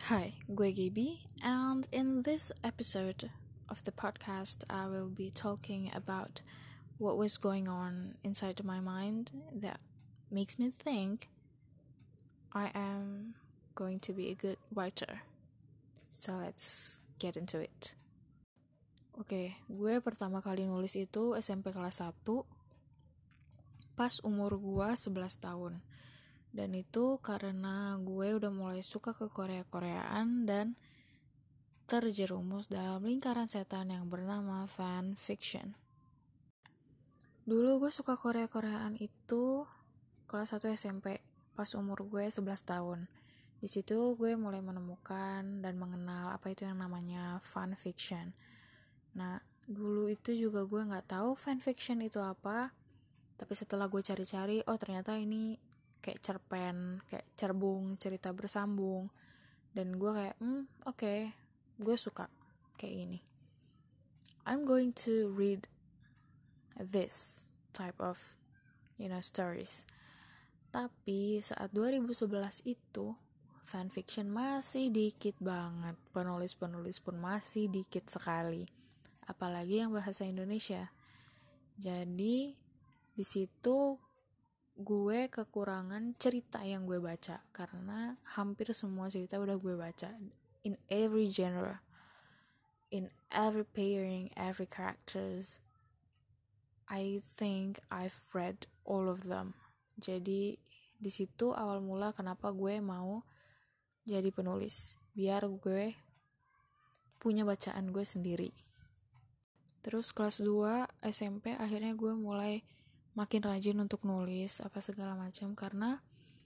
Hi, gue Gaby, and in this episode of the podcast, I will be talking about what was going on inside my mind that makes me think I am going to be a good writer. So let's get into it. Oke, gue pertama kali nulis itu SMP kelas 1 pas umur gue 11 tahun. Dan itu karena gue udah mulai suka ke Korea-Koreaan dan terjerumus dalam lingkaran setan yang bernama fan fiction. Dulu gue suka Korea-Koreaan itu kelas 1 SMP pas umur gue 11 tahun. Di situ gue mulai menemukan dan mengenal apa itu yang namanya fan fiction. Nah, dulu itu juga gue nggak tahu fan fiction itu apa, tapi setelah gue cari-cari, oh ternyata ini kayak cerpen, kayak cerbung, cerita bersambung. Dan gue kayak, oke, gue suka kayak gini. I'm going to read this type of, stories. Tapi saat 2011 itu, fanfiction masih dikit banget. Penulis-penulis pun masih dikit sekali. Apalagi yang bahasa Indonesia. Jadi, di situ gue kekurangan cerita yang gue baca karena hampir semua cerita udah gue baca in every genre, in every pairing, every characters. I think I've read all of them. Jadi di situ awal mula kenapa gue mau jadi penulis, biar gue punya bacaan gue sendiri. Terus kelas 2 SMP akhirnya gue mulai makin rajin untuk nulis apa segala macam karena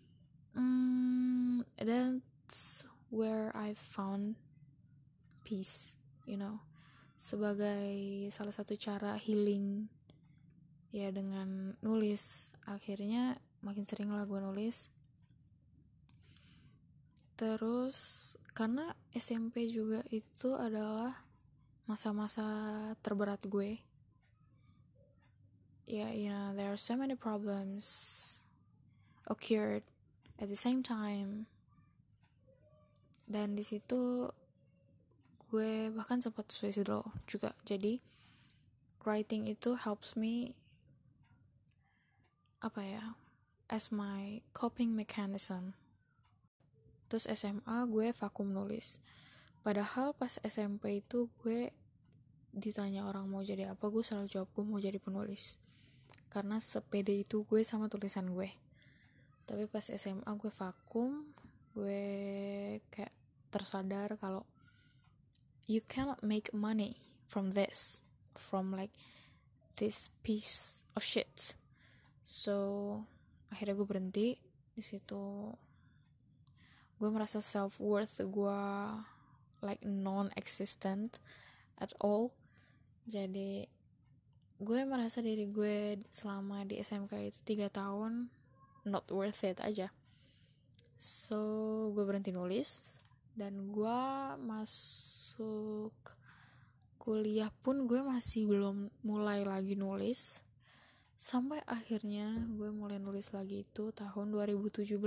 that's where I found peace, sebagai salah satu cara healing ya dengan nulis. Akhirnya makin sering lah gue nulis. Terus karena SMP juga itu adalah masa-masa terberat gue. There are so many problems occurred at the same time. Dan di situ gue bahkan sempat suicidal juga. Jadi writing itu helps me as my coping mechanism. Terus SMA gue vakum nulis. Padahal pas SMP itu gue ditanya orang mau jadi apa, gue selalu jawab gue mau jadi penulis. Karena sepede itu gue sama tulisan gue. Tapi pas SMA gue vakum, gue kayak tersadar kalau you cannot make money from this, from like this piece of shit. So akhirnya gue berhenti di situ. Gue merasa self-worth gue like non-existent at all. Jadi gue merasa diri gue selama di SMK itu 3 tahun not worth it aja. So gue berhenti nulis. Dan gue masuk kuliah pun gue masih belum mulai lagi nulis. Sampai akhirnya gue mulai nulis lagi itu tahun 2017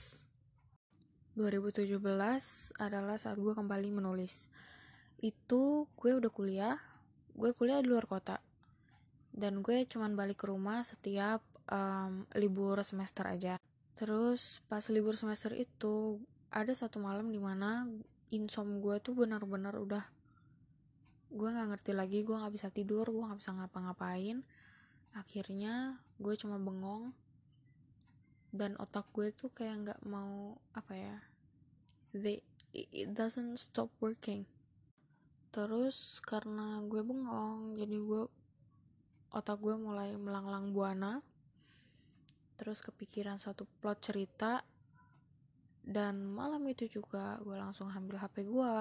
adalah saat gue kembali menulis. Itu gue udah kuliah. Gue kuliah di luar kota. Dan gue cuman balik ke rumah setiap libur semester aja. Terus pas libur semester itu ada satu malam dimana insom gue tuh benar-benar udah, gue gak ngerti lagi, gue gak bisa tidur, gue gak bisa ngapa-ngapain. Akhirnya gue cuma bengong dan otak gue tuh kayak gak mau it doesn't stop working. Terus karena gue bengong, jadi otak gue mulai melanglang buana. Terus kepikiran satu plot cerita. Dan malam itu juga gue langsung ambil HP gue.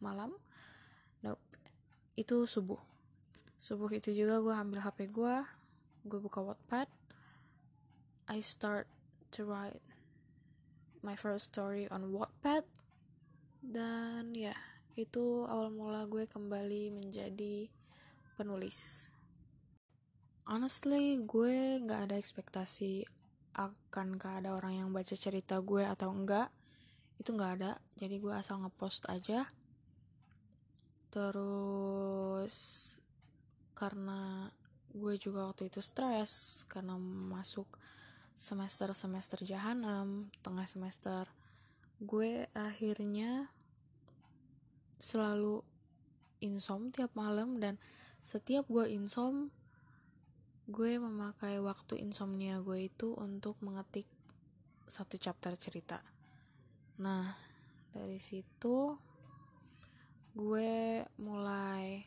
Itu subuh itu juga gue ambil HP gue buka Wattpad. I start to write my first story on Wattpad. Dan itu awal mula gue kembali menjadi penulis. Honestly, gue gak ada ekspektasi akankah ada orang yang baca cerita gue atau enggak. itu nggak ada, jadi gue asal ngepost aja. Terus karena gue juga waktu itu stres karena masuk semester jahanam, tengah semester, gue akhirnya selalu insom tiap malam. Dan setiap gue insom, gue memakai waktu insomnia gue itu untuk mengetik satu chapter cerita. Nah, dari situ gue mulai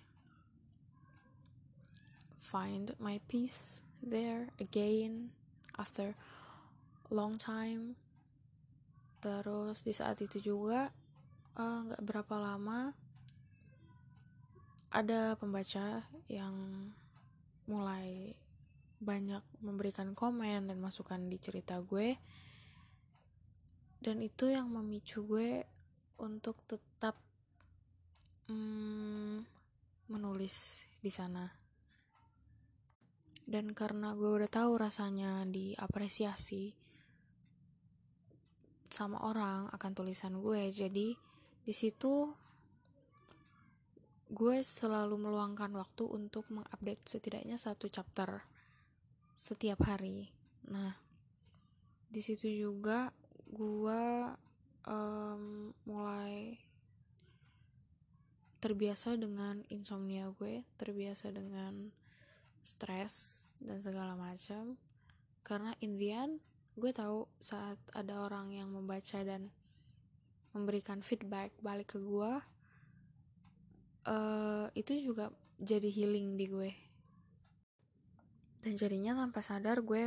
find my peace there again after long time. Terus di saat itu juga gak berapa lama ada pembaca yang mulai banyak memberikan komen dan masukan di cerita gue, dan itu yang memicu gue untuk tetap menulis di sana. Dan karena gue udah tahu rasanya diapresiasi sama orang akan tulisan gue, jadi di situ gue selalu meluangkan waktu untuk mengupdate setidaknya satu chapter setiap hari. Nah, di situ juga gue mulai terbiasa dengan insomnia gue, terbiasa dengan stres dan segala macam. Karena in the end, gue tahu saat ada orang yang membaca dan memberikan feedback balik ke gue, itu juga jadi healing di gue. Dan jadinya tanpa sadar gue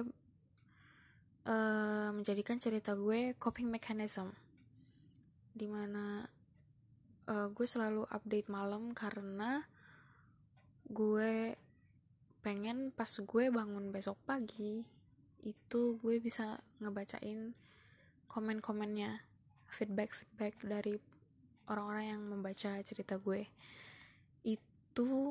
menjadikan cerita gue coping mechanism, dimana gue selalu update malam karena gue pengen pas gue bangun besok pagi itu gue bisa ngebacain komen-komennya, feedback dari orang-orang yang membaca cerita gue. Itu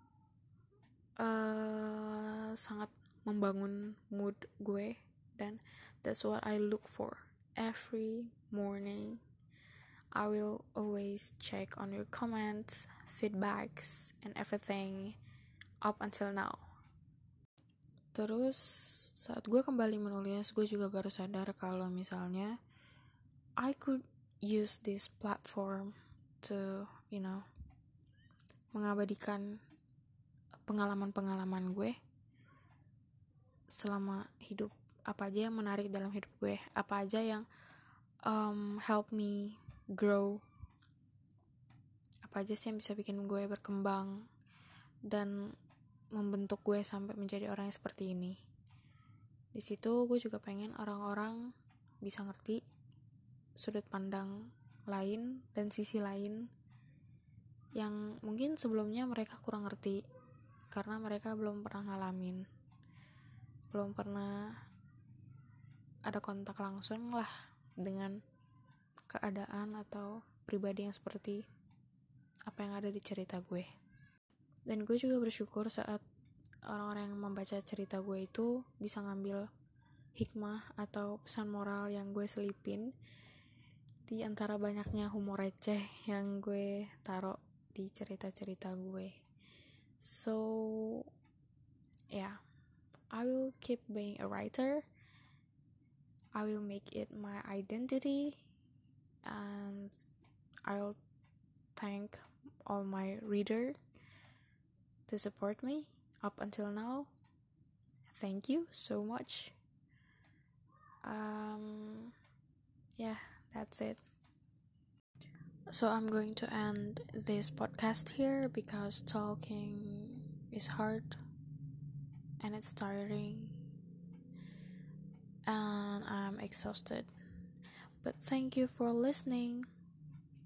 sangat membangun mood gue, dan that's what I look for every morning. I will always check on your comments, feedbacks, and everything up until now. Terus saat gue kembali menulis, gue juga baru sadar kalau misalnya I could use this platform to, mengabadikan pengalaman-pengalaman gue selama hidup. Apa aja yang menarik dalam hidup gue, apa aja yang help me grow, apa aja sih yang bisa bikin gue berkembang dan membentuk gue sampai menjadi orang yang seperti ini. Di situ gue juga pengen orang-orang bisa ngerti sudut pandang lain dan sisi lain yang mungkin sebelumnya mereka kurang ngerti karena mereka belum pernah ngalamin, belum pernah ada kontak langsung lah dengan keadaan atau pribadi yang seperti apa yang ada di cerita gue. Dan gue juga bersyukur saat orang-orang yang membaca cerita gue itu bisa ngambil hikmah atau pesan moral yang gue selipin di antara banyaknya humor receh yang gue taruh di cerita-cerita gue. So yeah, I will keep being a writer. I will make it my identity, and I'll thank all my reader to support me up until now. Thank you so much. Yeah, that's it. So I'm going to end this podcast here because talking is hard and it's tiring and I'm exhausted. But thank you for listening.